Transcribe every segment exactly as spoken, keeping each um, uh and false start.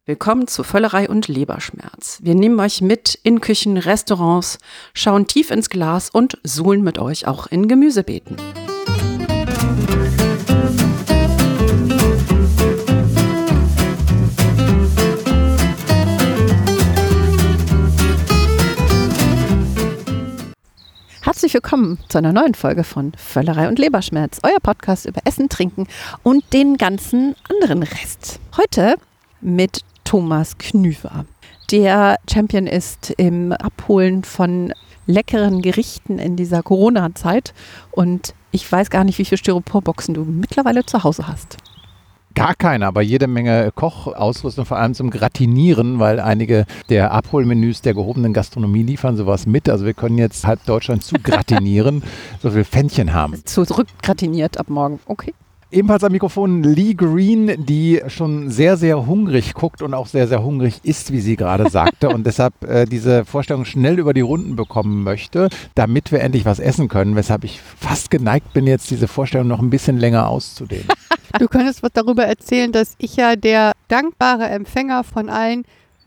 Willkommen zu Völlerei und Leberschmerz. Wir nehmen euch mit in Küchen, Restaurants, schauen tief ins Glas und suhlen mit euch auch in Gemüsebeeten. Herzlich willkommen zu einer neuen Folge von Völlerei und Leberschmerz, euer Podcast über Essen, Trinken und den ganzen anderen Rest. Heute mit Thomas Knüver, der Champion ist im Abholen von leckeren Gerichten in dieser Corona-Zeit. Und ich weiß gar nicht, wie viele Styroporboxen du mittlerweile zu Hause hast. Gar keine, aber jede Menge Kochausrüstung, vor allem zum Gratinieren, weil einige der Abholmenüs der gehobenen Gastronomie liefern sowas mit. Also wir können jetzt halb Deutschland zu gratinieren, so viel Pfännchen haben. Zurückgratiniert ab morgen, okay. Ebenfalls am Mikrofon Lee Green, die schon sehr, sehr hungrig guckt und auch sehr, sehr hungrig ist, wie sie gerade sagte und deshalb äh, diese Vorstellung schnell über die Runden bekommen möchte, damit wir endlich was essen können, weshalb ich fast geneigt bin, jetzt diese Vorstellung noch ein bisschen länger auszudehnen. Du könntest was darüber erzählen, dass ich ja der dankbare Empfänger von allen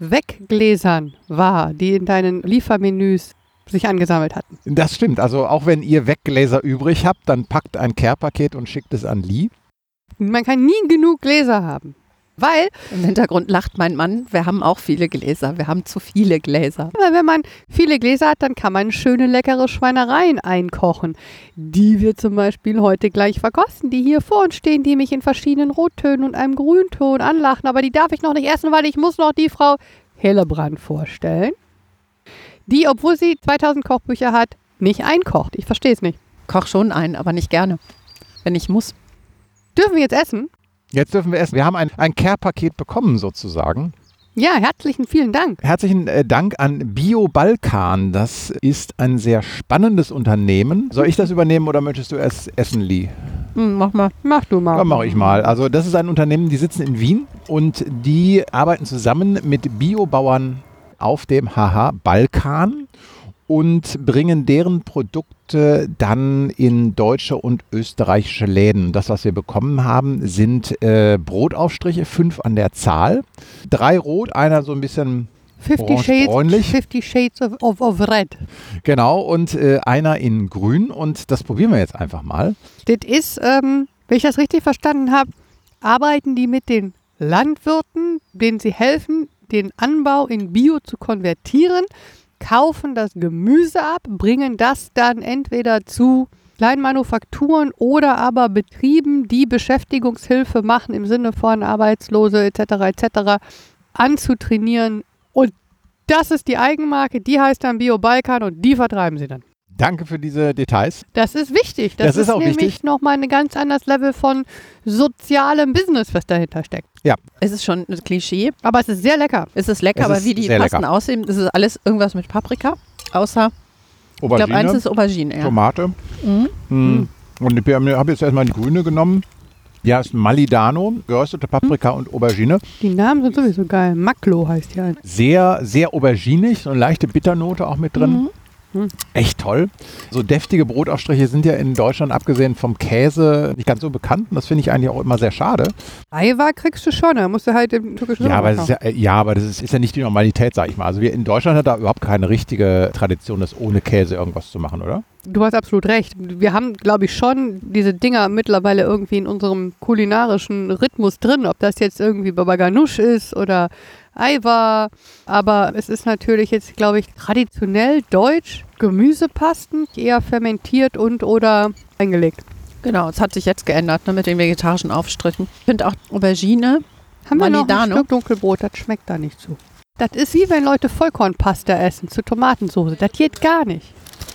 Weggläsern war, die in deinen Liefermenüs sich angesammelt hatten. Das stimmt. Also auch wenn ihr Weggläser übrig habt, dann packt ein Care-Paket und schickt es an Lee. Man kann nie genug Gläser haben, weil... Im Hintergrund lacht mein Mann, wir haben auch viele Gläser, wir haben zu viele Gläser. Aber wenn man viele Gläser hat, dann kann man schöne, leckere Schweinereien einkochen, die wir zum Beispiel heute gleich verkosten, die hier vor uns stehen, die mich in verschiedenen Rottönen und einem Grünton anlachen, aber die darf ich noch nicht essen, weil ich muss noch die Frau Hillebrand vorstellen, die, obwohl sie zweitausend Kochbücher hat, nicht einkocht. Ich verstehe es nicht. Koch schon ein, aber nicht gerne, wenn ich muss. Dürfen wir jetzt essen? Jetzt dürfen wir essen. Wir haben ein, ein Care-Paket bekommen sozusagen. Ja, herzlichen vielen Dank. Herzlichen äh, Dank an Bio-Balkan. Das ist ein sehr spannendes Unternehmen. Soll ich das übernehmen oder möchtest du es essen, Lee? Hm, mach mal. Mach du mal. Dann mache ich mal. Also das ist ein Unternehmen, die sitzen in Wien und die arbeiten zusammen mit Biobauern auf dem Haha Balkan und bringen deren Produkte dann in deutsche und österreichische Läden. Das, was wir bekommen haben, sind äh, Brotaufstriche, fünf an der Zahl. Drei rot, einer so ein bisschen orange-bräunlich. Fifty Shades of, of, of Red. Genau, und äh, einer in grün und das probieren wir jetzt einfach mal. Das ist, ähm, wenn ich das richtig verstanden habe, arbeiten die mit den Landwirten, denen sie helfen, den Anbau in Bio zu konvertieren, kaufen das Gemüse ab, bringen das dann entweder zu Kleinmanufakturen oder aber Betrieben, die Beschäftigungshilfe machen im Sinne von Arbeitslose et cetera et cetera anzutrainieren. Und das ist die Eigenmarke, die heißt dann Bio Balkan und die vertreiben sie dann. Danke für diese Details. Das ist wichtig. Das, das ist, ist auch nämlich wichtig. nochmal ein ganz anderes Level von sozialem Business, was dahinter steckt. Ja. Es ist schon ein Klischee. Aber es ist sehr lecker. Es ist lecker, Es aber ist wie die sehr Pasten lecker. aussehen, das ist alles irgendwas mit Paprika, außer, Aubergine, ich glaube, eins ist Aubergine. Ja. Tomate. Mhm. Mhm. Und ich habe jetzt erstmal die grüne genommen. Ja, ist Malidano, geröstete Paprika und Aubergine. Die Namen sind sowieso geil. Maklo heißt die halt. Sehr, sehr auberginig, so eine leichte Bitternote auch mit drin. Mhm. Echt toll. So deftige Brotaufstriche sind ja in Deutschland, abgesehen vom Käse, nicht ganz so bekannt. Und das finde ich eigentlich auch immer sehr schade. Eiwa kriegst du schon, da musst du halt im türkischen Ja, aber, das Supermarkt ist ja, ja, aber das ist, ist ja nicht die Normalität, sag ich mal. Also wir in Deutschland hat da überhaupt keine richtige Tradition, das ohne Käse irgendwas zu machen, oder? Du hast absolut recht. Wir haben, glaube ich, schon diese Dinger mittlerweile irgendwie in unserem kulinarischen Rhythmus drin. Ob das jetzt irgendwie Baba Ganoush ist oder Eiwa. Aber es ist natürlich jetzt, glaube ich, traditionell deutsch. Gemüsepasten, eher fermentiert und oder eingelegt. Genau, es hat sich jetzt geändert, ne, mit den vegetarischen Aufstrichen. Ich finde auch Aubergine, Haben wir noch ein Malidano. Stück Dunkelbrot, das schmeckt da nicht so. Das ist wie wenn Leute Vollkornpasta essen zu Tomatensauce. Das geht gar nicht.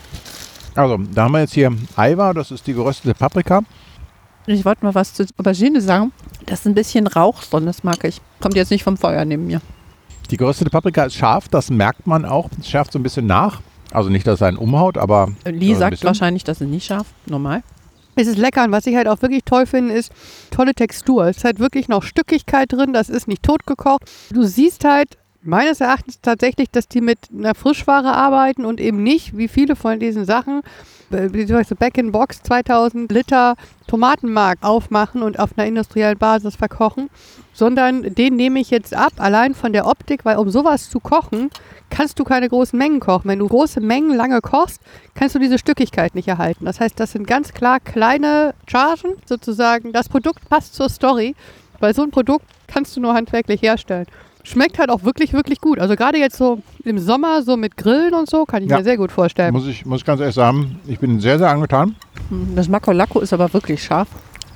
Also, da haben wir jetzt hier Eiwa, das ist die geröstete Paprika. Ich wollte mal was zu Aubergine sagen. Das ist ein bisschen Rauch drin, das mag ich. Kommt jetzt nicht vom Feuer neben mir. Die geröstete Paprika ist scharf, das merkt man auch. Es schärft so ein bisschen nach. Also nicht, dass es einen umhaut, aber Lee so sagt bisschen. wahrscheinlich, das ist nicht scharf, normal. Es ist lecker und was ich halt auch wirklich toll finde, ist tolle Textur. Es ist halt wirklich noch Stückigkeit drin, das ist nicht totgekocht. Du siehst halt meines Erachtens tatsächlich, dass die mit einer Frischware arbeiten und eben nicht, wie viele von diesen Sachen, wie soll ich so, Back-in-Box zweitausend Liter Tomatenmark aufmachen und auf einer industriellen Basis verkochen, sondern den nehme ich jetzt ab, allein von der Optik, weil um sowas zu kochen, kannst du keine großen Mengen kochen. Wenn du große Mengen lange kochst, kannst du diese Stückigkeit nicht erhalten. Das heißt, das sind ganz klar kleine Chargen, sozusagen. Das Produkt passt zur Story, weil so ein Produkt kannst du nur handwerklich herstellen. Schmeckt halt auch wirklich, wirklich gut. Also gerade jetzt so im Sommer, so mit Grillen und so, kann ich ja. mir sehr gut vorstellen. Muss ich, muss ich ganz ehrlich sagen, ich bin sehr, sehr angetan. Das Makalako ist aber wirklich scharf.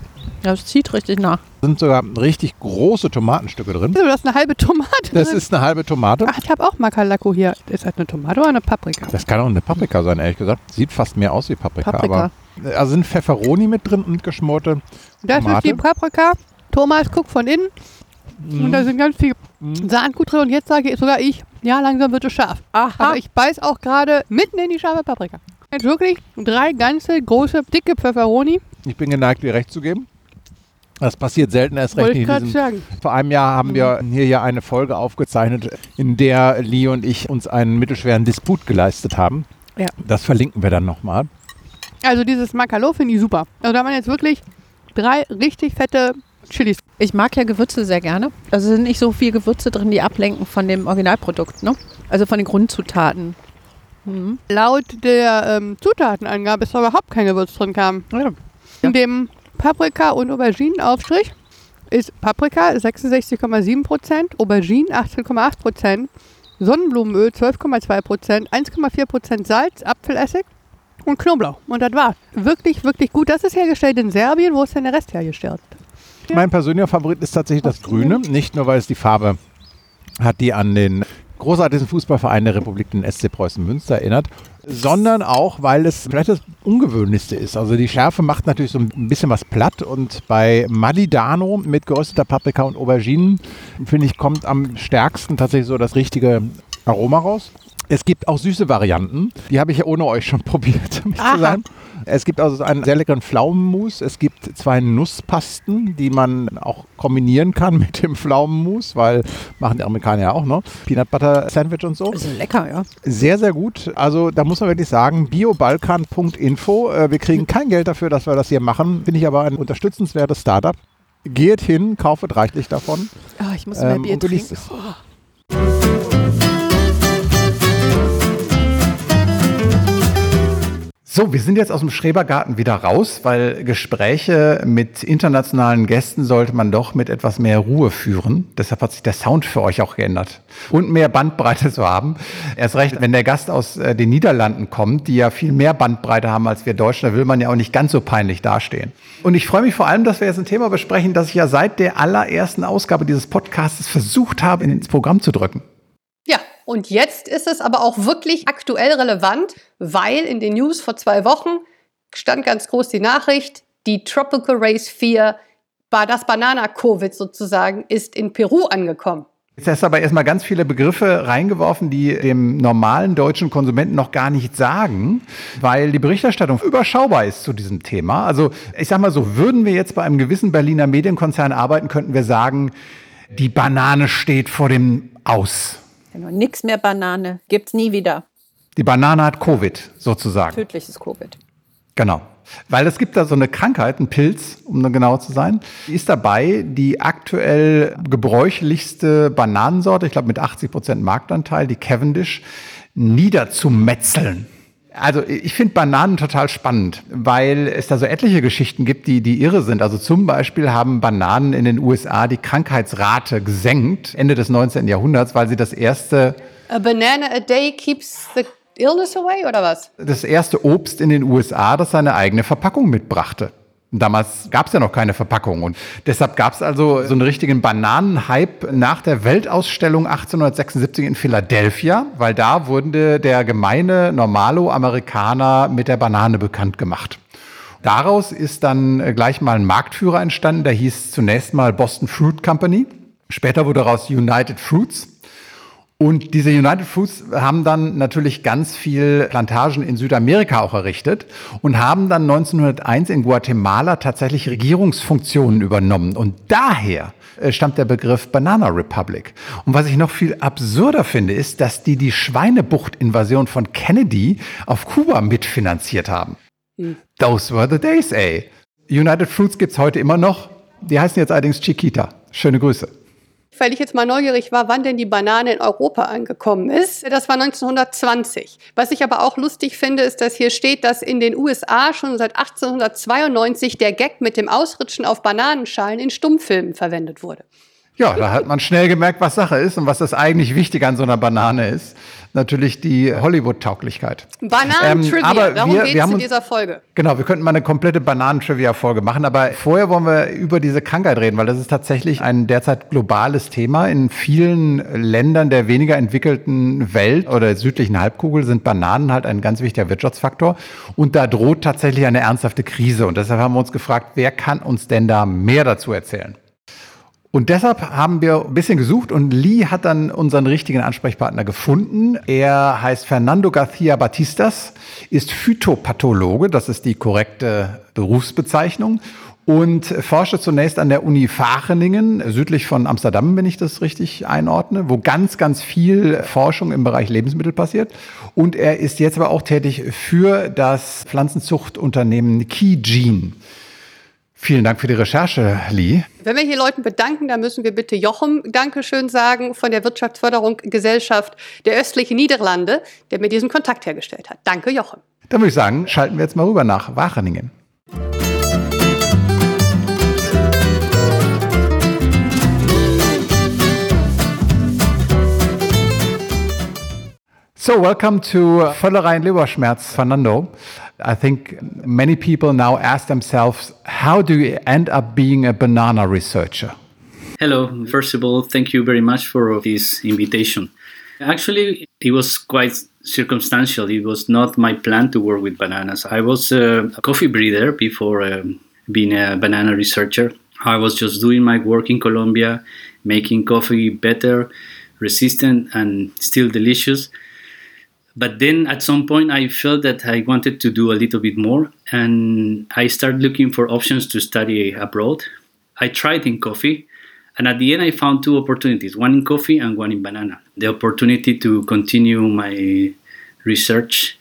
Das zieht richtig nach. Da sind sogar richtig große Tomatenstücke drin. Du hast eine halbe Tomate Das drin. ist eine halbe Tomate. Ach, ich habe auch Makalako hier. Ist das eine Tomate oder eine Paprika? Das kann auch eine Paprika sein, ehrlich gesagt. Sieht fast mehr aus wie Paprika. Paprika. Aber, also sind Pfefferoni mit drin und geschmorte Das Tomate. ist die Paprika. Thomas guckt von innen. Mm. Und da sind ganz viel mm. Saatgut drin. Und jetzt sage ich, sogar ich, ja, langsam wird es scharf. Aha. Aber ich beiß auch gerade mitten in die scharfe Paprika. Jetzt wirklich drei ganze, große, dicke Pfefferoni. Ich bin geneigt, dir recht zu geben. Das passiert selten, erst recht Wollte ich nicht in diesem. sagen. Vor einem Jahr haben wir hier ja eine Folge aufgezeichnet, in der Lee und ich uns einen mittelschweren Disput geleistet haben. Ja. Das verlinken wir dann nochmal. Also dieses Makalo finde ich super. Also da waren jetzt wirklich drei richtig fette Chilis. Ich mag ja Gewürze sehr gerne. Also sind nicht so viel Gewürze drin, die ablenken von dem Originalprodukt, ne? Also von den Grundzutaten. Mhm. Laut der ähm, Zutatenangabe ist da überhaupt kein Gewürz drin kam. Ja. In dem Paprika- und Auberginenaufstrich ist Paprika sechsundsechzig Komma sieben Prozent, Aubergine achtzehn Komma acht Prozent, Sonnenblumenöl zwölf Komma zwei Prozent, eins Komma vier Prozent Salz, Apfelessig und Knoblauch. Und das war wirklich, wirklich gut. Das ist hergestellt in Serbien. Wo ist denn der Rest hergestellt? Ja. Mein persönlicher Favorit ist tatsächlich das Grüne. Nicht nur, weil es die Farbe hat, die an den großartigen Fußballverein der Republik, den S C Preußen Münster, erinnert, sondern auch, weil es vielleicht das Ungewöhnlichste ist. Also die Schärfe macht natürlich so ein bisschen was platt und bei Malidano mit gerösteter Paprika und Auberginen, finde ich, kommt am stärksten tatsächlich so das richtige Aroma raus. Es gibt auch süße Varianten, die habe ich ja ohne euch schon probiert, um ehrlich zu sein. Es gibt also einen sehr leckeren Pflaumenmus, es gibt zwei Nusspasten, die man auch kombinieren kann mit dem Pflaumenmus, weil machen die Amerikaner ja auch, ne? Peanut Butter Sandwich und so. Das ist lecker, ja. Sehr, sehr gut. Also da muss man wirklich sagen, biobalkan Punkt info. Äh, wir kriegen kein Geld dafür, dass wir das hier machen. Finde ich aber ein unterstützenswertes Startup. Geht hin, kaufet reichlich davon. Oh, ich muss mehr ähm, Bier und genießt trinken. es. Oh. So, wir sind jetzt aus dem Schrebergarten wieder raus, weil Gespräche mit internationalen Gästen sollte man doch mit etwas mehr Ruhe führen. Deshalb hat sich der Sound für euch auch geändert. Und mehr Bandbreite zu haben. Erst recht, wenn der Gast aus äh, den Niederlanden kommt, die ja viel mehr Bandbreite haben als wir Deutschen, da will man ja auch nicht ganz so peinlich dastehen. Und ich freue mich vor allem, dass wir jetzt ein Thema besprechen, das ich ja seit der allerersten Ausgabe dieses Podcasts versucht habe, ins Programm zu drücken. Ja, und jetzt ist es aber auch wirklich aktuell relevant, weil in den News vor zwei Wochen stand ganz groß die Nachricht, die Tropical Race vier, das Banana-Covid sozusagen, ist in Peru angekommen. Jetzt hast du aber erstmal ganz viele Begriffe reingeworfen, die dem normalen deutschen Konsumenten noch gar nichts sagen, weil die Berichterstattung überschaubar ist zu diesem Thema. Also ich sag mal so, würden wir jetzt bei einem gewissen Berliner Medienkonzern arbeiten, könnten wir sagen, die Banane steht vor dem Aus. Genau, nix mehr Banane, gibt's nie wieder. Die Banane hat Covid sozusagen. Tödliches Covid. Genau. Weil es gibt da so eine Krankheit, einen Pilz, um dann genauer zu sein, die ist dabei, die aktuell gebräuchlichste Bananensorte, ich glaube mit achtzig Prozent Marktanteil, die Cavendish, niederzumetzeln. Also ich finde Bananen total spannend, weil es da so etliche Geschichten gibt, die, die irre sind. Also zum Beispiel haben Bananen in den U S A die Krankheitsrate gesenkt, Ende des neunzehnten Jahrhunderts, weil sie das erste... A banana a day keeps the illness away, oder was? Das erste Obst in den U S A, das seine eigene Verpackung mitbrachte. Damals gab es ja noch keine Verpackung und deshalb gab es also so einen richtigen Bananenhype nach der Weltausstellung achtzehnhundertsechsundsiebzig in Philadelphia, weil da wurde der gemeine Normalo-Amerikaner mit der Banane bekannt gemacht. Daraus ist dann gleich mal ein Marktführer entstanden, der hieß zunächst mal Boston Fruit Company. Später wurde daraus United Fruits. Und diese United Fruits haben dann natürlich ganz viel Plantagen in Südamerika auch errichtet und haben dann neunzehnhunderteins in Guatemala tatsächlich Regierungsfunktionen übernommen. Und daher äh, stammt der Begriff Banana Republic. Und was ich noch viel absurder finde, ist, dass die die Schweinebucht-Invasion von Kennedy auf Kuba mitfinanziert haben. Hm. Those were the days, ey. United Fruits gibt's heute immer noch. Die heißen jetzt allerdings Chiquita. Schöne Grüße. Weil ich jetzt mal neugierig war, wann denn die Banane in Europa angekommen ist. Das war neunzehnhundertzwanzig. Was ich aber auch lustig finde, ist, dass hier steht, dass in den U S A schon seit achtzehnhundertzweiundneunzig der Gag mit dem Ausrutschen auf Bananenschalen in Stummfilmen verwendet wurde. Ja, da hat man schnell gemerkt, was Sache ist und was das eigentlich Wichtige an so einer Banane ist. Natürlich die Hollywood-Tauglichkeit. Bananen-Trivia, ähm, darum geht es in dieser Folge. Genau, wir könnten mal eine komplette Bananen-Trivia-Folge machen, aber vorher wollen wir über diese Krankheit reden, weil das ist tatsächlich ein derzeit globales Thema. In vielen Ländern der weniger entwickelten Welt oder südlichen Halbkugel sind Bananen halt ein ganz wichtiger Wirtschaftsfaktor und da droht tatsächlich eine ernsthafte Krise. Und deshalb haben wir uns gefragt, wer kann uns denn da mehr dazu erzählen? Und deshalb haben wir ein bisschen gesucht und Lee hat dann unseren richtigen Ansprechpartner gefunden. Er heißt Fernando García Batistas, ist Phytopathologe, das ist die korrekte Berufsbezeichnung, und forschte zunächst an der Uni Wageningen, südlich von Amsterdam, wenn ich das richtig einordne, wo ganz, ganz viel Forschung im Bereich Lebensmittel passiert. Und er ist jetzt aber auch tätig für das Pflanzenzuchtunternehmen KeyGene. Vielen Dank für die Recherche, Lee. Wenn wir hier Leuten bedanken, dann müssen wir bitte Jochem Dankeschön sagen von der Wirtschaftsförderung Gesellschaft der östlichen Niederlande, der mir diesen Kontakt hergestellt hat. Danke, Jochem. Dann würde ich sagen, schalten wir jetzt mal rüber nach Wageningen. So, welcome to Völlerei und Leberschmerz, Fernando. I think many people now ask themselves, how do you end up being a banana researcher? Hello. First of all, thank you very much for this invitation. Actually, it was quite circumstantial. It was not my plan to work with bananas. I was a coffee breeder before um, being a banana researcher. I was just doing my work in Colombia, making coffee better, resistant, and still delicious. But then at some point I felt that I wanted to do a little bit more, and I started looking for options to study abroad. I tried in coffee, and at the end I found two opportunities, one in coffee and one in banana. The opportunity to continue my research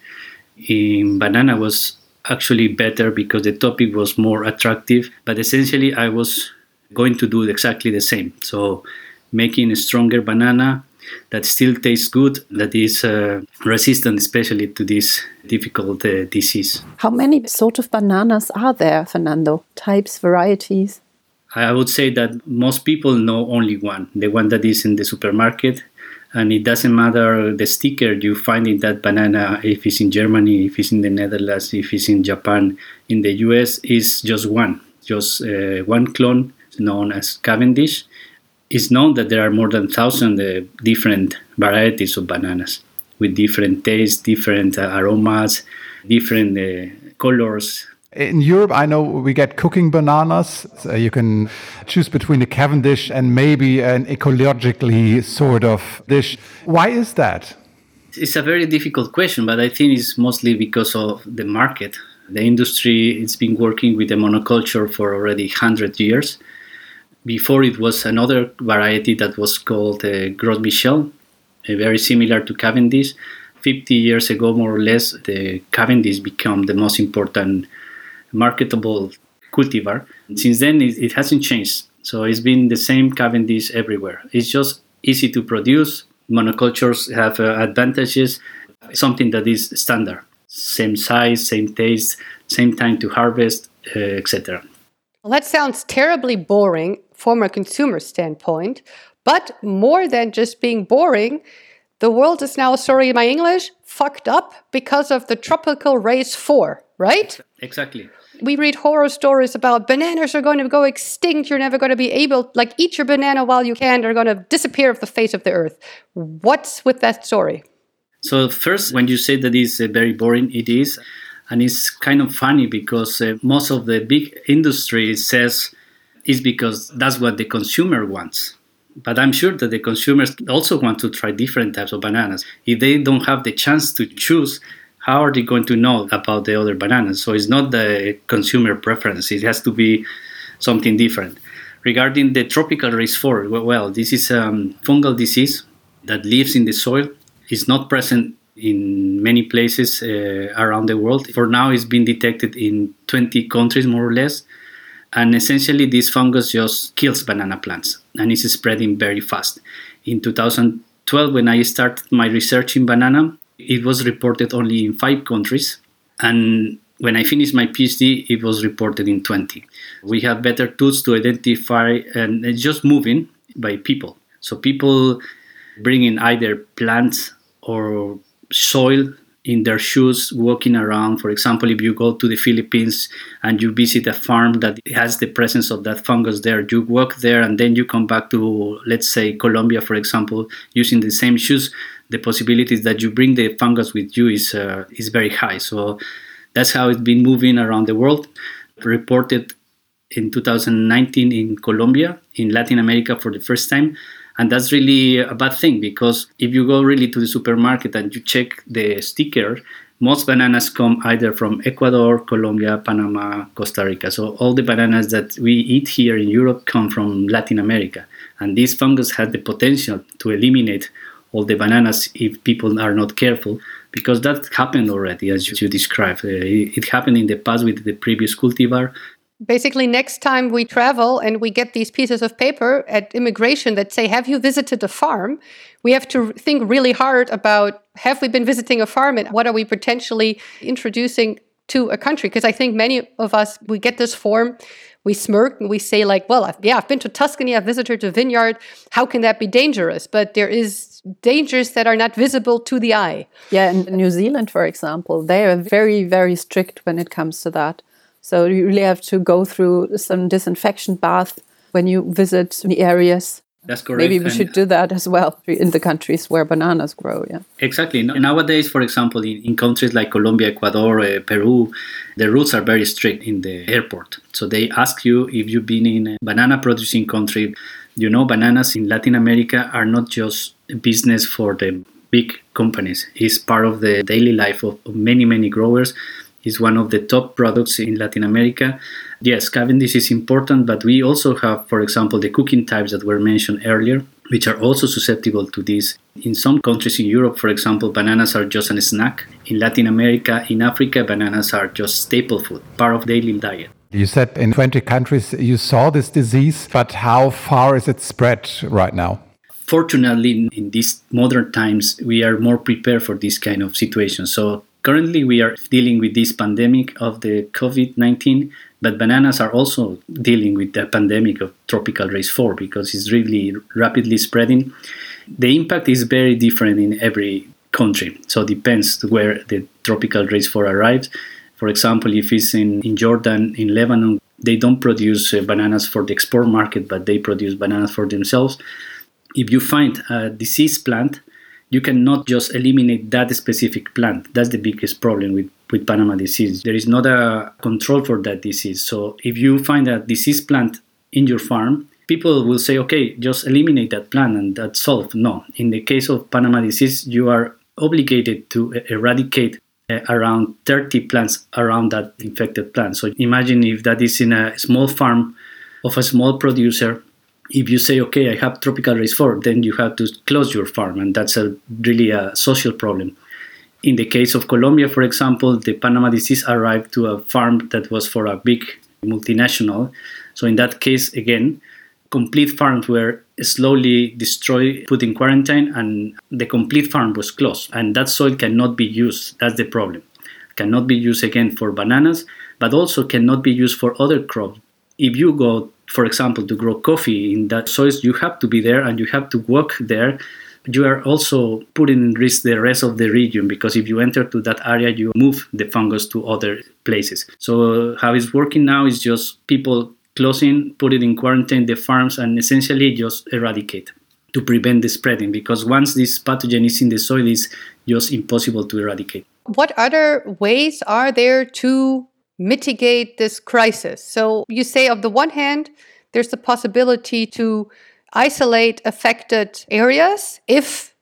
in banana was actually better because the topic was more attractive, but essentially I was going to do exactly the same. So making a stronger banana that still tastes good, that is uh, resistant especially to this difficult uh, disease. How many sort of bananas are there, Fernando? Types, varieties? I would say that most people know only one, the one that is in the supermarket. And it doesn't matter the sticker you find in that banana, if it's in Germany, if it's in the Netherlands, if it's in Japan, in the U S, is just one, just uh, one clone known as Cavendish. It's known that there are more than one thousand uh, different varieties of bananas with different tastes, different uh, aromas, different uh, colors. In Europe, I know we get cooking bananas. So you can choose between a Cavendish and maybe an ecologically sort of dish. Why is that? It's a very difficult question, but I think it's mostly because of the market. The industry, it's been working with the monoculture for already one hundred years. Before it was another variety that was called uh, Gros Michel, uh, very similar to Cavendish. fifty years ago, more or less, the Cavendish became the most important marketable cultivar. Since then, it, it hasn't changed. So it's been the same Cavendish everywhere. It's just easy to produce. Monocultures have uh, advantages, something that is standard. Same size, same taste, same time to harvest, uh, et cetera. Well, that sounds terribly boring from a consumer standpoint, but more than just being boring, the world is now, sorry my English, fucked up because of the tropical race four, right? Exactly. We read horror stories about bananas are going to go extinct, you're never going to be able, like, eat your banana while you can, they're going to disappear off the face of the earth. What's with that story? So first, when you say that it's uh, very boring, it is. And it's kind of funny because uh, most of the big industry says it's because that's what the consumer wants. But I'm sure that the consumers also want to try different types of bananas. If they don't have the chance to choose, how are they going to know about the other bananas? So it's not the consumer preference. It has to be something different. Regarding the tropical race four, well, this is a um, fungal disease that lives in the soil. It's not present in many places uh, around the world. For now, it's been detected in twenty countries, more or less. And essentially, this fungus just kills banana plants, and it's spreading very fast. In two thousand twelve, when I started my research in banana, it was reported only in five countries. And when I finished my PhD, it was reported in twenty. We have better tools to identify, and it's just moving by people. So people bring in either plants or soil in their shoes, walking around. For example, if you go to the Philippines and you visit a farm that has the presence of that fungus there, you walk there and then you come back to, let's say, Colombia, for example, using the same shoes, the possibilities that you bring the fungus with you is uh, is very high. So that's how it's been moving around the world. Reported in two thousand nineteen in Colombia, in Latin America for the first time. And that's really a bad thing, because if you go really to the supermarket and you check the sticker, most bananas come either from Ecuador, Colombia, Panama, Costa Rica. So all the bananas that we eat here in Europe come from Latin America. And this fungus has the potential to eliminate all the bananas if people are not careful, because that happened already, as you described. Uh, it, it happened in the past with the previous cultivar. Basically, next time we travel and we get these pieces of paper at immigration that say, have you visited a farm? We have to think really hard about, have we been visiting a farm and what are we potentially introducing to a country? Because I think many of us, we get this form, we smirk and we say like, well, I've, yeah, I've been to Tuscany, I've visited a vineyard. How can that be dangerous? But there is dangers that are not visible to the eye. Yeah, in New Zealand, for example, they are very, very strict when it comes to that. So you really have to go through some disinfection bath when you visit the areas. That's correct. Maybe we and should do that as well in the countries where bananas grow. Yeah. Exactly. Nowadays, for example, in, in countries like Colombia, Ecuador, uh, Peru, the rules are very strict in the airport. So they ask you if you've been in a banana producing country. You know, bananas in Latin America are not just a business for the big companies. It's part of the daily life of, of many, many growers. Is one of the top products in Latin America. Yes, Cavendish is important, but we also have, for example, the cooking types that were mentioned earlier, which are also susceptible to this. In some countries in Europe, for example, bananas are just a snack. In Latin America, in Africa, bananas are just staple food, part of daily diet. You said in twenty countries you saw this disease, but how far is it spread right now? Fortunately, in, in these modern times, we are more prepared for this kind of situation. So currently, we are dealing with this pandemic of the COVID nineteen, but bananas are also dealing with the pandemic of tropical race four because it's really rapidly spreading. The impact is very different in every country, so it depends where the tropical race four arrives. For example, if it's in, in Jordan, in Lebanon, they don't produce uh, bananas for the export market, but they produce bananas for themselves. If you find a diseased plant, you cannot just eliminate that specific plant. That's the biggest problem with, with Panama disease. There is not a control for that disease. So if you find a diseased plant in your farm, people will say, okay, just eliminate that plant and that's solved. No. In the case of Panama disease, you are obligated to eradicate uh, around thirty plants around that infected plant. So imagine if that is in a small farm of a small producer. If you say, okay, I have tropical race four, then you have to close your farm, and that's a really a social problem. In the case of Colombia, for example, the Panama disease arrived to a farm that was for a big multinational. So in that case, again, complete farms were slowly destroyed, put in quarantine, and the complete farm was closed. And that soil cannot be used. That's the problem. Cannot be used again for bananas, but also cannot be used for other crops. If you go, for example, to grow coffee in that soil, you have to be there and you have to work there. You are also putting in risk the rest of the region because if you enter to that area, you move the fungus to other places. So how it's working now is just people closing, put it in quarantine, the farms, and essentially just eradicate to prevent the spreading because once this pathogen is in the soil, it's just impossible to eradicate. What other ways are there to mitigate this crisis? So you say on the one hand, there's the possibility to isolate affected areas if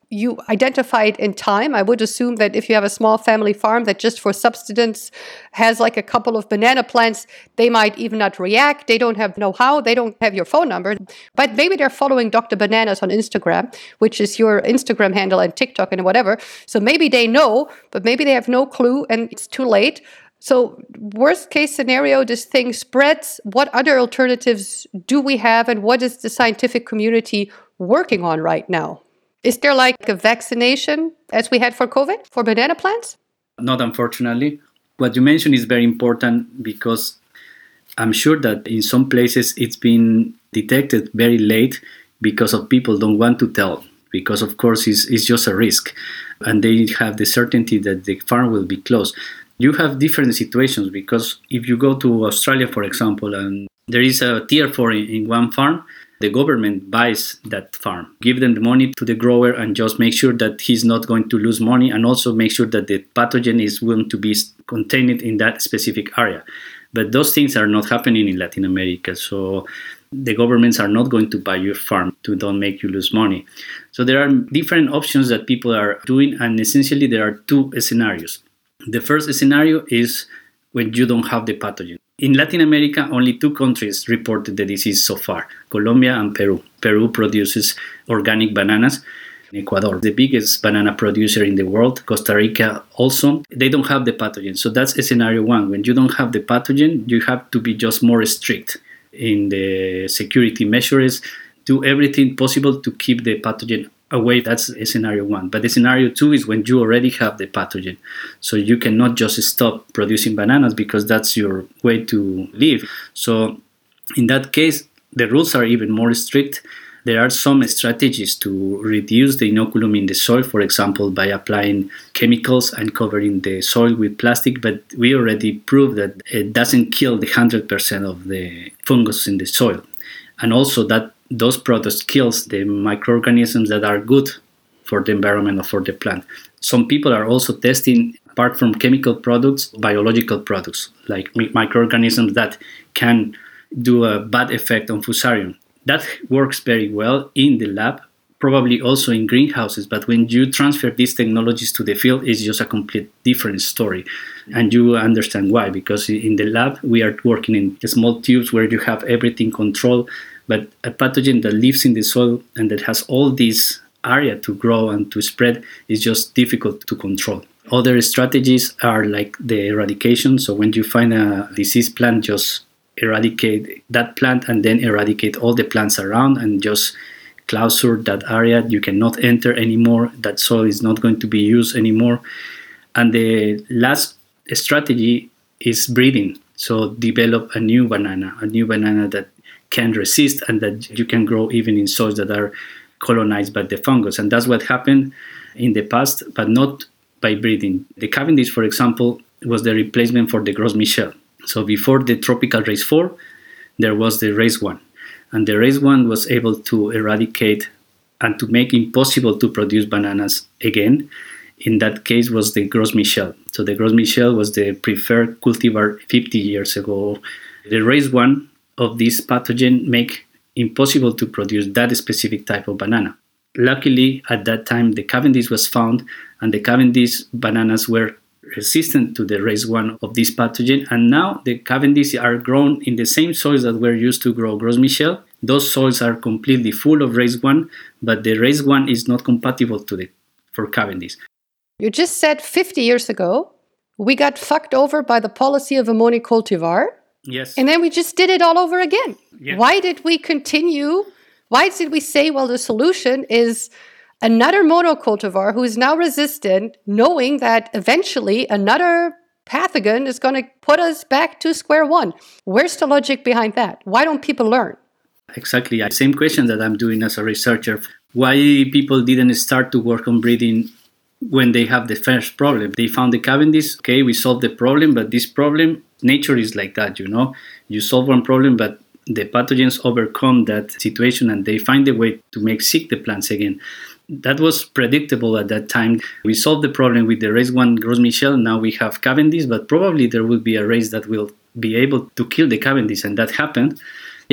you identify it in time. I would assume that if you have a small family farm that just for subsistence has like a couple of banana plants, they might even not react. They don't have know-how. They don't have your phone number. But maybe they're following Doctor Bananas on Instagram, which is your Instagram handle and TikTok and whatever. So maybe they know, but maybe they have no clue and it's too late. So worst case scenario, this thing spreads. What other alternatives do we have, and what is the scientific community working on right now? Is there like a vaccination as we had for COVID for banana plants? Not unfortunately. What you mentioned is very important because I'm sure that in some places it's been detected very late because of people don't want to tell, because of course it's, it's just a risk and they have the certainty that the farm will be closed. You have different situations because if you go to Australia, for example, and there is a tier four in, in one farm, the government buys that farm, give them the money to the grower and just make sure that he's not going to lose money and also make sure that the pathogen is going to be contained in that specific area. But those things are not happening in Latin America. So the governments are not going to buy your farm to don't make you lose money. So there are different options that people are doing, and essentially there are two scenarios. The first scenario is when you don't have the pathogen. In Latin America, only two countries reported the disease so far, Colombia and Peru. Peru produces organic bananas. Ecuador, the biggest banana producer in the world, Costa Rica also, they don't have the pathogen. So that's scenario one. When you don't have the pathogen, you have to be just more strict in the security measures, do everything possible to keep the pathogen away. That's scenario one. But the scenario two is when you already have the pathogen. So you cannot just stop producing bananas because that's your way to live. So in that case, the rules are even more strict. There are some strategies to reduce the inoculum in the soil, for example, by applying chemicals and covering the soil with plastic. But we already proved that it doesn't kill the one hundred percent of the fungus in the soil. And also that those products kills the microorganisms that are good for the environment or for the plant. Some people are also testing, apart from chemical products, biological products, like microorganisms that can do a bad effect on Fusarium. That works very well in the lab, probably also in greenhouses, but when you transfer these technologies to the field, it's just a complete different story. And you understand why, because in the lab, we are working in small tubes where you have everything controlled, but a pathogen that lives in the soil and that has all this area to grow and to spread is just difficult to control. Other strategies are like the eradication. So when you find a diseased plant, just eradicate that plant and then eradicate all the plants around and just clausure that area. You cannot enter anymore. That soil is not going to be used anymore. And the last strategy is breeding. So develop a new banana, a new banana that can resist and that you can grow even in soils that are colonized by the fungus. And that's what happened in the past, but not by breeding. The Cavendish, for example, was the replacement for the Gros Michel. So before the tropical race four, there was the race one. And the race one was able to eradicate and to make impossible to produce bananas again. In that case was the Gros Michel. So the Gros Michel was the preferred cultivar fifty years ago. The race one of this pathogen make impossible to produce that specific type of banana. Luckily, at that time, the Cavendish was found, and the Cavendish bananas were resistant to the race one of this pathogen, and now the Cavendish are grown in the same soils that were used to grow Gros Michel. Those soils are completely full of race one, but the race one is not compatible to the for Cavendish. You just said fifty years ago, we got fucked over by the policy of a monocultivar. Yes. And then we just did it all over again. Yeah. Why did we continue? Why did we say, well, the solution is another monocultivar who is now resistant, knowing that eventually another pathogen is going to put us back to square one? Where's the logic behind that? Why don't people learn? Exactly. Same question that I'm doing as a researcher. Why people didn't start to work on breeding when they have the first problem? They found the Cavendish, okay, we solved the problem, but this problem, nature is like that, you know. You solve one problem, but the pathogens overcome that situation and they find a way to make sick the plants again. That was predictable at that time. We solved the problem with the race one Gros Michel. Now we have Cavendish, but probably there will be a race that will be able to kill the Cavendish, and that happened. Yeah,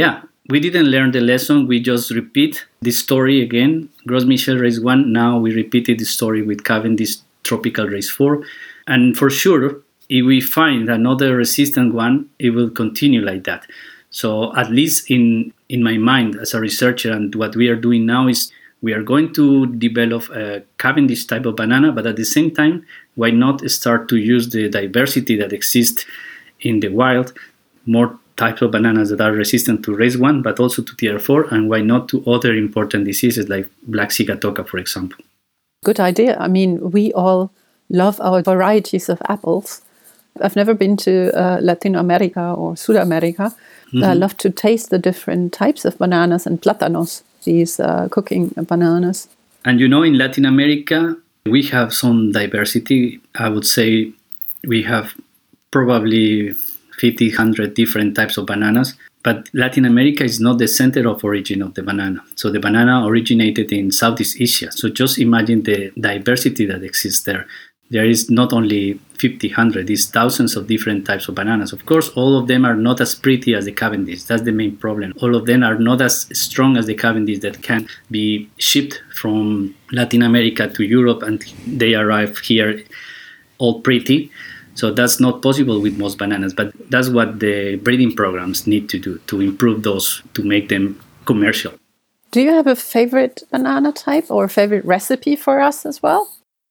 we didn't learn the lesson. We just repeat the story again. Gros Michel race one. Now we repeated the story with Cavendish Tropical race four. And for sure, if we find another resistant one, it will continue like that. So at least in, in my mind as a researcher, and what we are doing now is we are going to develop a Cavendish type of banana, but at the same time, why not start to use the diversity that exists in the wild, more types of bananas that are resistant to race one, but also to T R four, and why not to other important diseases like Black Sigatoka, for example. Good idea. I mean, we all love our varieties of apples. I've never been to uh, Latin America or South America. Mm-hmm. I love to taste the different types of bananas and plátanos, these uh, cooking bananas. And you know, in Latin America, we have some diversity. I would say we have probably fifty, one hundred different types of bananas. But Latin America is not the center of origin of the banana. So the banana originated in Southeast Asia. So just imagine the diversity that exists there. There is not only fifty, one hundred, there's thousands of different types of bananas. Of course, all of them are not as pretty as the Cavendish. That's the main problem. All of them are not as strong as the Cavendish that can be shipped from Latin America to Europe and they arrive here all pretty. So that's not possible with most bananas, but that's what the breeding programs need to do, to improve those, to make them commercial. Do you have a favorite banana type or a favorite recipe for us as well?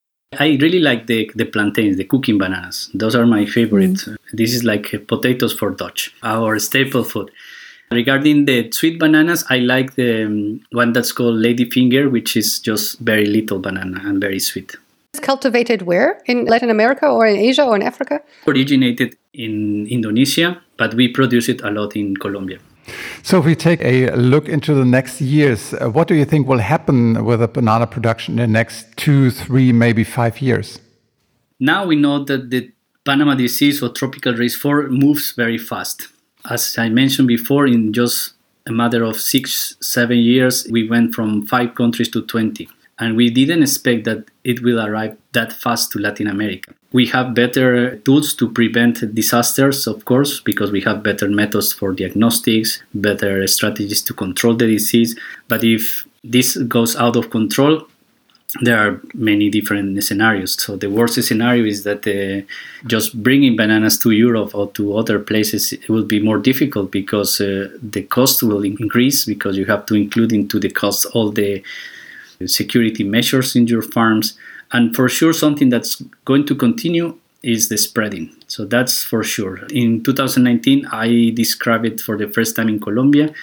I really like the, the plantains, the cooking bananas. Those are my favorite. Mm. This is like potatoes for Dutch, our staple food. Regarding the sweet bananas, I like the um, one that's called Ladyfinger, which is just very little banana and very sweet. It's cultivated where? In Latin America or in Asia or in Africa? Originated in Indonesia, but we produce it a lot in Colombia. So if we take a look into the next years, uh, what do you think will happen with the banana production in the next two, three, maybe five years? Now we know that the Panama disease or tropical race four moves very fast. As I mentioned before, in just a matter of six, seven years, we went from five countries to twenty. And we didn't expect that it will arrive that fast to Latin America. We have better tools to prevent disasters, of course, because we have better methods for diagnostics, better strategies to control the disease. But if this goes out of control, there are many different scenarios. So the worst scenario is that uh, just bringing bananas to Europe or to other places, it will be more difficult because uh, the cost will increase, because you have to include into the cost all the security measures in your farms. And for sure, something that's going to continue is the spreading. So that's for sure. In two thousand nineteen, I described it for the first time in Colombia.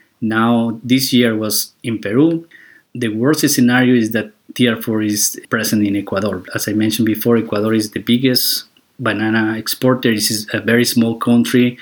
Now, this year was in Peru. The worst scenario is that T R four is present in Ecuador. As I mentioned before, Ecuador is the biggest banana exporter. This is a very small country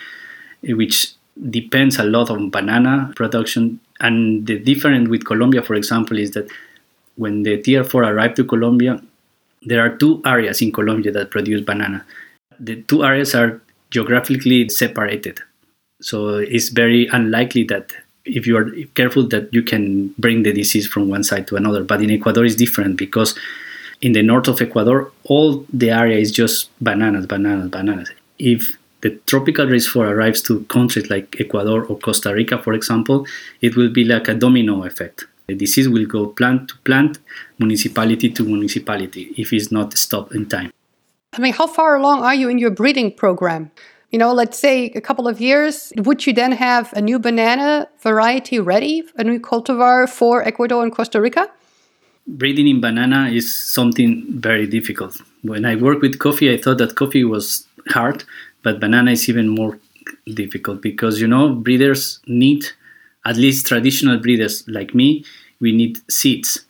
which depends a lot on banana production. And the difference with Colombia, for example, is that when the T R four arrived to Colombia, there are two areas in Colombia that produce banana. The two areas are geographically separated. So it's very unlikely that if you are careful that you can bring the disease from one side to another. But in Ecuador it's different, because in the north of Ecuador, all the area is just bananas, bananas, bananas. If the tropical race four arrives to countries like Ecuador or Costa Rica, for example, it will be like a domino effect. The disease will go plant to plant, municipality to municipality, if it's not stopped in time. I mean, how far along are you in your breeding program? You know, let's say a couple of years, would you then have a new banana variety ready, a new cultivar for Ecuador and Costa Rica? Breeding in banana is something very difficult. When I worked with coffee, I thought that coffee was hard, but banana is even more difficult because, you know, breeders need, at least traditional breeders like me, we need seeds.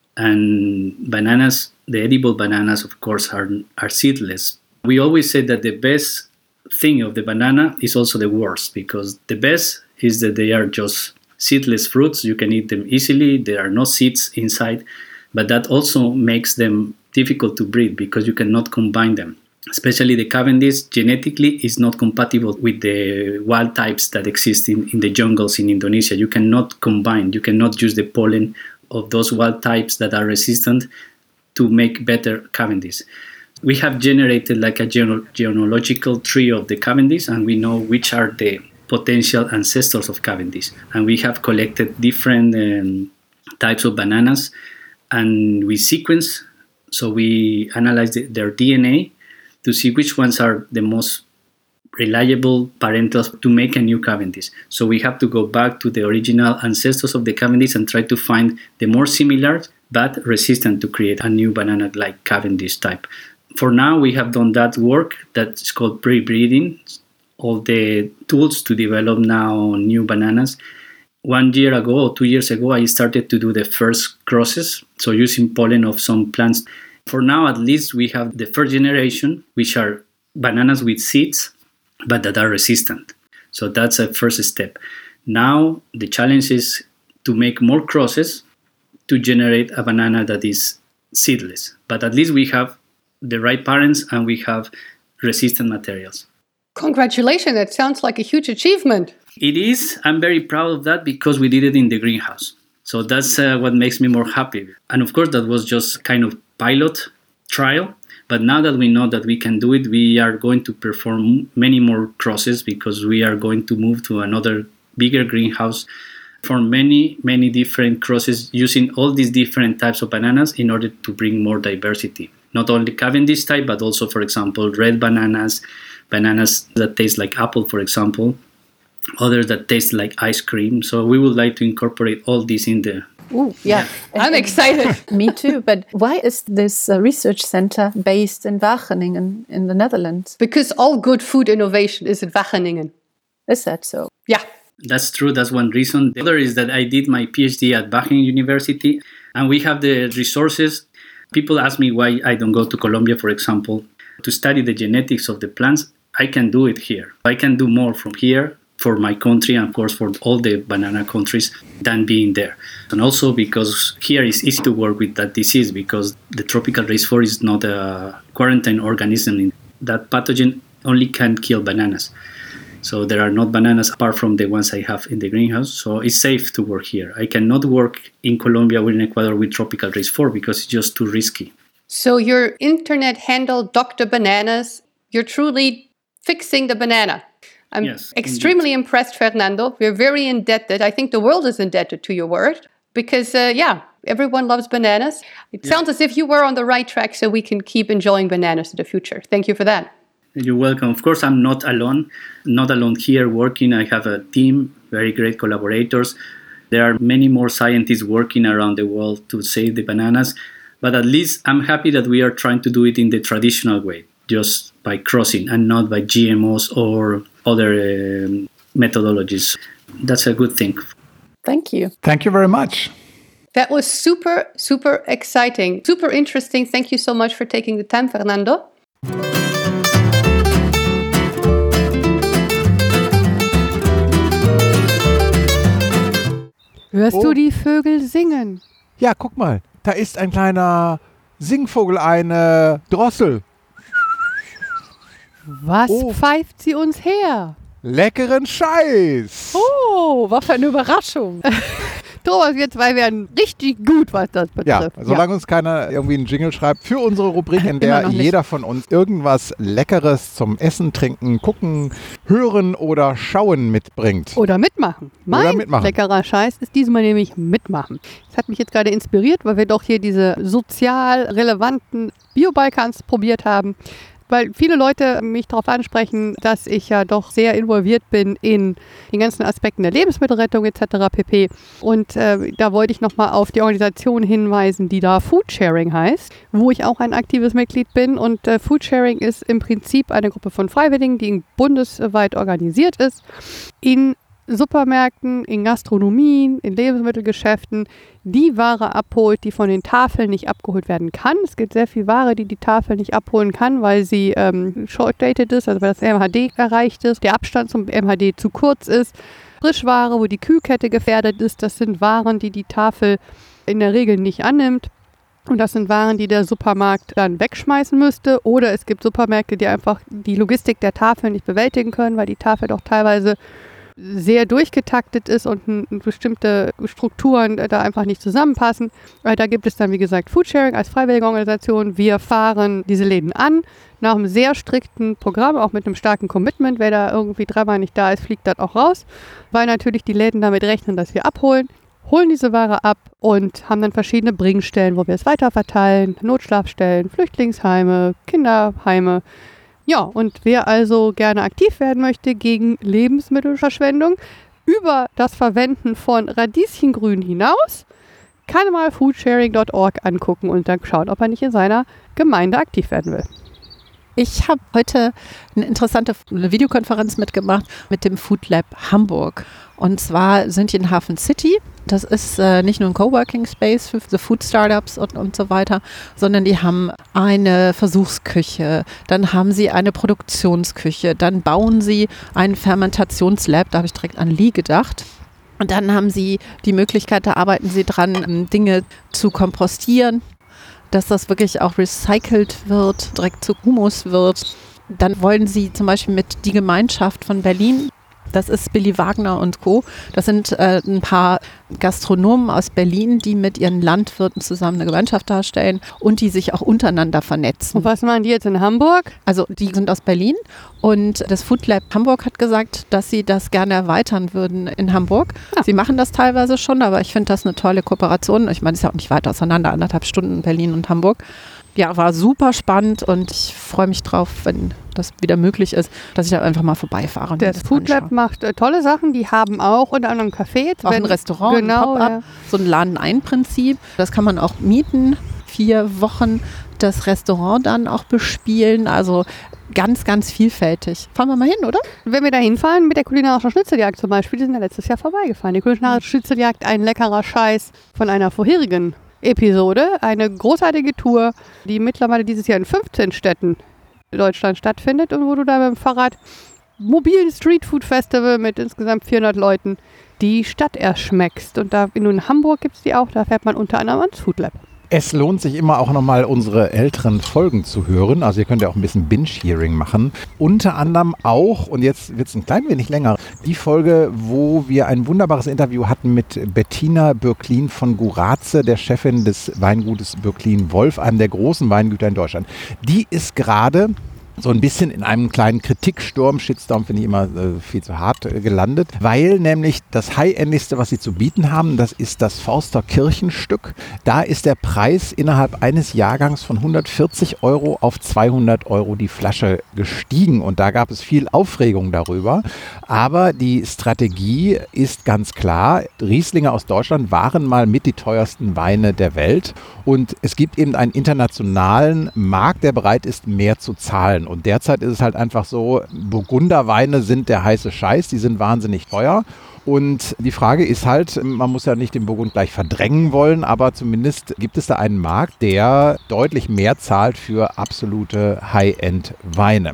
And bananas, the edible bananas, of course, are, are seedless. We always say that the best thing of the banana is also the worst, because the best is that they are just seedless fruits. You can eat them easily. There are no seeds inside, but that also makes them difficult to breed because you cannot combine them. Especially the Cavendish genetically is not compatible with the wild types that exist in, in the jungles in Indonesia. You cannot combine, you cannot use the pollen of those wild types that are resistant to make better Cavendish. We have generated like a gene- genealogical tree of the Cavendish, and we know which are the potential ancestors of Cavendish. And we have collected different um, types of bananas, and we sequence, so we analyze the, their D N A to see which ones are the most reliable parentals to make a new Cavendish. So we have to go back to the original ancestors of the Cavendish and try to find the more similar but resistant to create a new banana like Cavendish type. For now, we have done that work that's called pre-breeding, all the tools to develop now new bananas. One year ago or two years ago, I started to do the first crosses, so using pollen of some plants. For now, at least, we have the first generation, which are bananas with seeds, but that are resistant. So that's a first step. Now, the challenge is to make more crosses to generate a banana that is seedless. But at least we have the right parents and we have resistant materials. Congratulations, that sounds like a huge achievement. It is. I'm very proud of that because we did it in the greenhouse. So that's uh, what makes me more happy. And of course, that was just kind of pilot trial. But now that we know that we can do it, we are going to perform many more crosses because we are going to move to another bigger greenhouse for many, many different crosses using all these different types of bananas in order to bring more diversity. Not only Cavendish type, but also, for example, red bananas, bananas that taste like apple, for example, others that taste like ice cream. So we would like to incorporate all this in there. Ooh, yeah. I'm excited. Me too. But why is this uh, research center based in Wageningen in the Netherlands? Because all good food innovation is in Wageningen. Is that so? Yeah. That's true. That's one reason. The other is that I did my PhD at Wageningen University, and we have the resources. People ask me why I don't go to Colombia, for example, to study the genetics of the plants. I can do it here. I can do more from here for my country and, of course, for all the banana countries than being there. And also because here it's easy to work with that disease because the tropical race four is not a quarantine organism. That pathogen only can kill bananas. So there are not bananas apart from the ones I have in the greenhouse. So it's safe to work here. I cannot work in Colombia or in Ecuador with tropical race four because it's just too risky. So your internet handle, Doctor Bananas, you're truly fixing the banana. I'm yes, extremely indeed. impressed, Fernando. We're very indebted. I think the world is indebted to your work because, uh, yeah, everyone loves bananas. It yeah. sounds as if you were on the right track so we can keep enjoying bananas in the future. Thank you for that. You're welcome. Of course, I'm not alone. Not alone here working. I have a team, very great collaborators. There are many more scientists working around the world to save the bananas. But at least I'm happy that we are trying to do it in the traditional way, just by crossing and not by G M Os or other um, methodologies. That's a good thing. Thank you. Thank you very much. That was super, super exciting, super interesting. Thank you so much for taking the time, Fernando. Hörst Oh. du die Vögel singen? Ja, guck mal, da ist ein kleiner Singvogel, eine Drossel. Was Oh. pfeift sie uns her? Leckeren Scheiß. Oh, was für eine Überraschung. Thomas, wir zwei werden richtig gut, was das Ja, betrifft. solange uns keiner irgendwie einen Jingle schreibt für unsere Rubrik, in der Immer noch nicht. jeder von uns irgendwas Leckeres zum Essen, Trinken, Gucken, Hören oder Schauen mitbringt. Oder mitmachen. Mein Oder mitmachen. leckerer Scheiß ist diesmal nämlich mitmachen. Das hat mich jetzt gerade inspiriert, weil wir doch hier diese sozial relevanten Bio-Balkans probiert haben. Weil viele Leute mich darauf ansprechen, dass ich ja doch sehr involviert bin in den ganzen Aspekten der Lebensmittelrettung et cetera pp. Und äh, da wollte ich nochmal auf die Organisation hinweisen, die da Foodsharing heißt, wo ich auch ein aktives Mitglied bin. Und äh, Foodsharing ist im Prinzip eine Gruppe von Freiwilligen, die bundesweit organisiert ist, in Supermärkten, in Gastronomien, in Lebensmittelgeschäften die Ware abholt, die von den Tafeln nicht abgeholt werden kann. Es gibt sehr viel Ware, die die Tafel nicht abholen kann, weil sie ähm, short-dated ist, also weil das M H D erreicht ist, der Abstand zum M H D zu kurz ist. Frischware, wo die Kühlkette gefährdet ist, das sind Waren, die die Tafel in der Regel nicht annimmt. Und das sind Waren, die der Supermarkt dann wegschmeißen müsste. Oder es gibt Supermärkte, die einfach die Logistik der Tafel nicht bewältigen können, weil die Tafel doch teilweise sehr durchgetaktet ist und n- bestimmte Strukturen äh, da einfach nicht zusammenpassen. Äh, da gibt es dann, wie gesagt, Foodsharing als freiwillige Organisation. Wir fahren diese Läden an, nach einem sehr strikten Programm, auch mit einem starken Commitment. Wer da irgendwie dreimal nicht da ist, fliegt dann auch raus, weil natürlich die Läden damit rechnen, dass wir abholen, holen diese Ware ab und haben dann verschiedene Bringstellen, wo wir es weiterverteilen, Notschlafstellen, Flüchtlingsheime, Kinderheime. Ja, und wer also gerne aktiv werden möchte gegen Lebensmittelverschwendung über das Verwenden von Radieschengrün hinaus, kann mal foodsharing Punkt org angucken und dann schauen, ob er nicht in seiner Gemeinde aktiv werden will. Ich habe heute eine interessante Videokonferenz mitgemacht mit dem Food Lab Hamburg. Und zwar sind die in Hafen City. Das ist äh, nicht nur ein Coworking Space für the Food Startups und, und so weiter, sondern die haben eine Versuchsküche, dann haben sie eine Produktionsküche, dann bauen sie ein Fermentationslab, da habe ich direkt an Lee gedacht. Und dann haben sie die Möglichkeit, da arbeiten sie dran, Dinge zu kompostieren, dass das wirklich auch recycelt wird, direkt zu Humus wird. Dann wollen sie zum Beispiel mit die Gemeinschaft von Berlin, das ist Billy Wagner und Co., das sind äh, ein paar Gastronomen aus Berlin, die mit ihren Landwirten zusammen eine Gemeinschaft darstellen und die sich auch untereinander vernetzen. Und was machen die jetzt in Hamburg? Also die sind aus Berlin und das Food Lab Hamburg hat gesagt, dass sie das gerne erweitern würden in Hamburg. Ja. Sie machen das teilweise schon, aber ich finde das eine tolle Kooperation. Ich meine, es ist ja auch nicht weit auseinander, anderthalb Stunden Berlin und Hamburg. Ja, war super spannend und ich freue mich drauf, wenn das wieder möglich ist, dass ich da einfach mal vorbeifahre. und mir Das das Food Lab anschaue. macht äh, tolle Sachen. Die haben auch unter anderem Café. Auch ein Restaurant, genau, ein Pop-up, ja. so ein Laden-ein-Prinzip. Das kann man auch mieten, vier Wochen das Restaurant dann auch bespielen. Also ganz, ganz vielfältig. Fahren wir mal hin, oder? Wenn wir da hinfahren mit der kulinarischen Schnitzeljagd zum Beispiel, die sind ja letztes Jahr vorbeigefahren. Die kulinarische Schnitzeljagd, ein leckerer Scheiß von einer vorherigen Episode. Eine großartige Tour, die mittlerweile dieses Jahr in fünfzehn Städten in Deutschland stattfindet und wo du da mit dem Fahrrad mobilen Streetfood Festival mit insgesamt vierhundert Leuten die Stadt erschmeckst. Und da in Hamburg gibt es die auch, da fährt man unter anderem ans Food Lab. Es lohnt sich immer auch nochmal unsere älteren Folgen zu hören. Also ihr könnt ja auch ein bisschen Binge-Hearing machen. Unter anderem auch, und jetzt wird es ein klein wenig länger, die Folge, wo wir ein wunderbares Interview hatten mit Bettina Bürklin von Guraze, der Chefin des Weingutes Bürklin-Wolf, einem der großen Weingüter in Deutschland. Die ist gerade so ein bisschen in einem kleinen Kritiksturm, Shitstorm finde ich immer äh, viel zu hart äh, gelandet, weil nämlich das High-Endigste, was sie zu bieten haben, das ist das Forster Kirchenstück. Da ist der Preis innerhalb eines Jahrgangs von hundertvierzig Euro auf zweihundert Euro die Flasche gestiegen und da gab es viel Aufregung darüber. Aber die Strategie ist ganz klar, Rieslinge aus Deutschland waren mal mit die teuersten Weine der Welt und es gibt eben einen internationalen Markt, der bereit ist, mehr zu zahlen. Und derzeit ist es halt einfach so, Burgunderweine sind der heiße Scheiß, die sind wahnsinnig teuer. Und die Frage ist halt, man muss ja nicht den Burgund gleich verdrängen wollen, aber zumindest gibt es da einen Markt, der deutlich mehr zahlt für absolute High-End-Weine.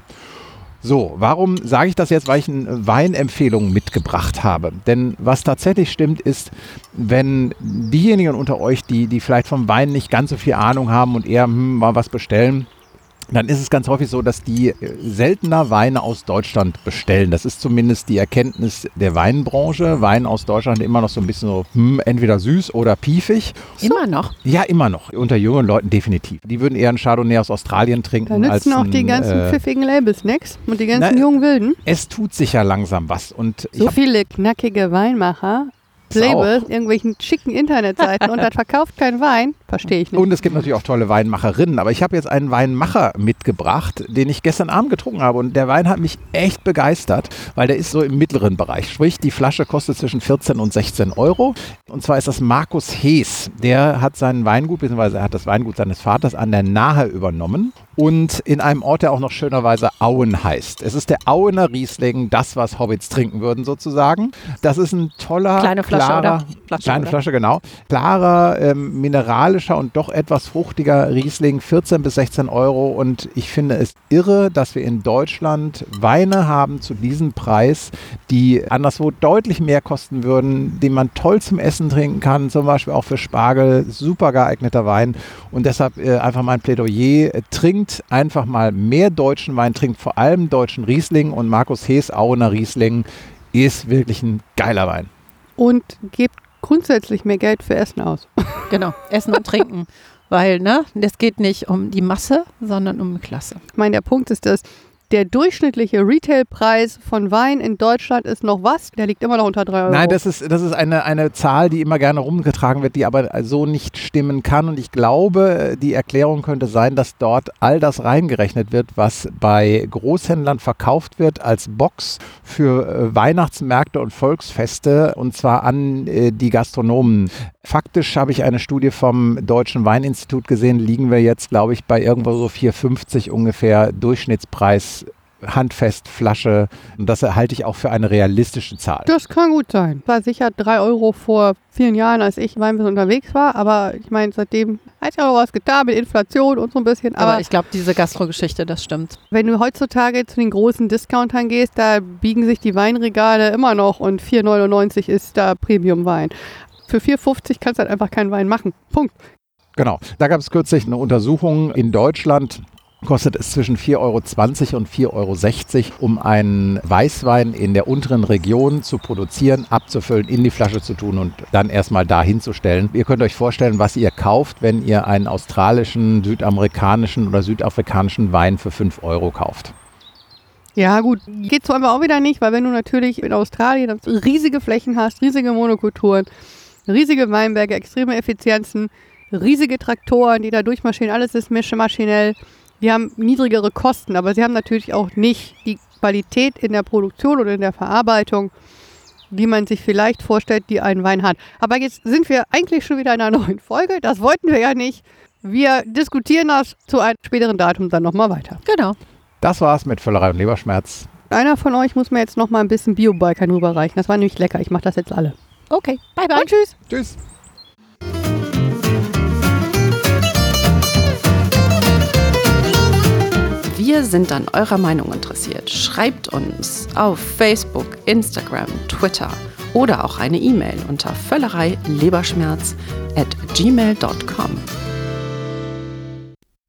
So, warum sage ich das jetzt? Weil ich eine Weinempfehlung mitgebracht habe. Denn was tatsächlich stimmt ist, wenn diejenigen unter euch, die, die vielleicht vom Wein nicht ganz so viel Ahnung haben und eher hm, mal was bestellen, dann ist es ganz häufig so, dass die seltener Weine aus Deutschland bestellen. Das ist zumindest die Erkenntnis der Weinbranche. Wein aus Deutschland immer noch so ein bisschen so, hm, entweder süß oder piefig. Immer noch? Ja, immer noch. Unter jüngeren Leuten definitiv. Die würden eher einen Chardonnay aus Australien trinken. Da nützen als auch die ein, ganzen äh, pfiffigen Labels nix und die ganzen na, jungen Wilden. Es tut sich ja langsam was. Und ich So hab, viele knackige Weinmacher, Labels, irgendwelchen schicken Internetseiten und das verkauft kein Wein, verstehe ich nicht. Und es gibt natürlich auch tolle Weinmacherinnen, aber ich habe jetzt einen Weinmacher mitgebracht, den ich gestern Abend getrunken habe und der Wein hat mich echt begeistert, weil der ist so im mittleren Bereich, sprich die Flasche kostet zwischen vierzehn und sechzehn Euro und zwar ist das Markus Hees, der hat sein Weingut, beziehungsweise er hat das Weingut seines Vaters an der Nahe übernommen und in einem Ort, der auch noch schönerweise Auen heißt. Es ist der Auener Riesling, das, was Hobbits trinken würden sozusagen. Das ist ein toller, Kleine Flasche, klarer, oder? Flasche, kleine oder? Flasche, genau. Klarer, ähm, mineralischer und doch etwas fruchtiger Riesling, vierzehn bis sechzehn Euro und ich finde es irre, dass wir in Deutschland Weine haben zu diesem Preis, die anderswo deutlich mehr kosten würden, den man toll zum Essen trinken kann, zum Beispiel auch für Spargel, super geeigneter Wein und deshalb äh, einfach mein Plädoyer, äh, trinkt einfach mal mehr deutschen Wein, trinkt vor allem deutschen Riesling und Markus Hees Auener Riesling ist wirklich ein geiler Wein. Und gebt grundsätzlich mehr Geld für Essen aus. Genau, Essen und Trinken. Weil, ne, es geht nicht um die Masse, sondern um Klasse. Ich meine, der Punkt ist, dass der durchschnittliche Retailpreis von Wein in Deutschland ist noch was? Der liegt immer noch unter drei Euro. Nein, das ist, das ist eine, eine Zahl, die immer gerne rumgetragen wird, die aber so nicht stimmen kann. Und ich glaube, die Erklärung könnte sein, dass dort all das reingerechnet wird, was bei Großhändlern verkauft wird als Box für äh, Weihnachtsmärkte und Volksfeste, und zwar an äh, die Gastronomen. Faktisch habe ich eine Studie vom Deutschen Weininstitut gesehen, liegen wir jetzt, glaube ich, bei irgendwo so vier Euro fünfzig ungefähr Durchschnittspreis, handfest, Flasche. Und das halte ich auch für eine realistische Zahl. Das kann gut sein. War sicher drei Euro vor vielen Jahren, als ich Weinbiss unterwegs war. Aber ich meine, seitdem hat sich auch was getan mit Inflation und so ein bisschen. Aber, Aber ich glaube, diese Gastro-Geschichte, das stimmt. wenn du heutzutage zu den großen Discountern gehst, da biegen sich die Weinregale immer noch und vier neunundneunzig ist da Premium-Wein. Für vier fünfzig kannst du halt einfach keinen Wein machen. Punkt. Genau. Da gab es kürzlich eine Untersuchung in Deutschland. Kostet es zwischen vier Euro zwanzig und vier Euro sechzig, um einen Weißwein in der unteren Region zu produzieren, abzufüllen, in die Flasche zu tun und dann erstmal da hinzustellen. Ihr könnt euch vorstellen, was ihr kauft, wenn ihr einen australischen, südamerikanischen oder südafrikanischen Wein für fünf Euro kauft. Ja gut, geht so aber auch wieder nicht, weil wenn du natürlich in Australien riesige Flächen hast, riesige Monokulturen, riesige Weinberge, extreme Effizienzen, riesige Traktoren, die da durchmaschinen, alles ist maschinell. Die haben niedrigere Kosten, aber sie haben natürlich auch nicht die Qualität in der Produktion oder in der Verarbeitung, die man sich vielleicht vorstellt, die ein Wein hat. Aber jetzt sind wir eigentlich schon wieder in einer neuen Folge. Das wollten wir ja nicht. Wir diskutieren das zu einem späteren Datum dann nochmal weiter. Genau. Das war's mit Völlerei und Leberschmerz. Einer von euch muss mir jetzt nochmal ein bisschen Bio-Balkan rüberreichen. Das war nämlich lecker. Ich mache das jetzt alle. Okay, bye bye. Und tschüss. Tschüss. Wir sind an eurer Meinung interessiert. Schreibt uns auf Facebook, Instagram, Twitter oder auch eine E-Mail unter völlerei leberschmerz at gmail dot com.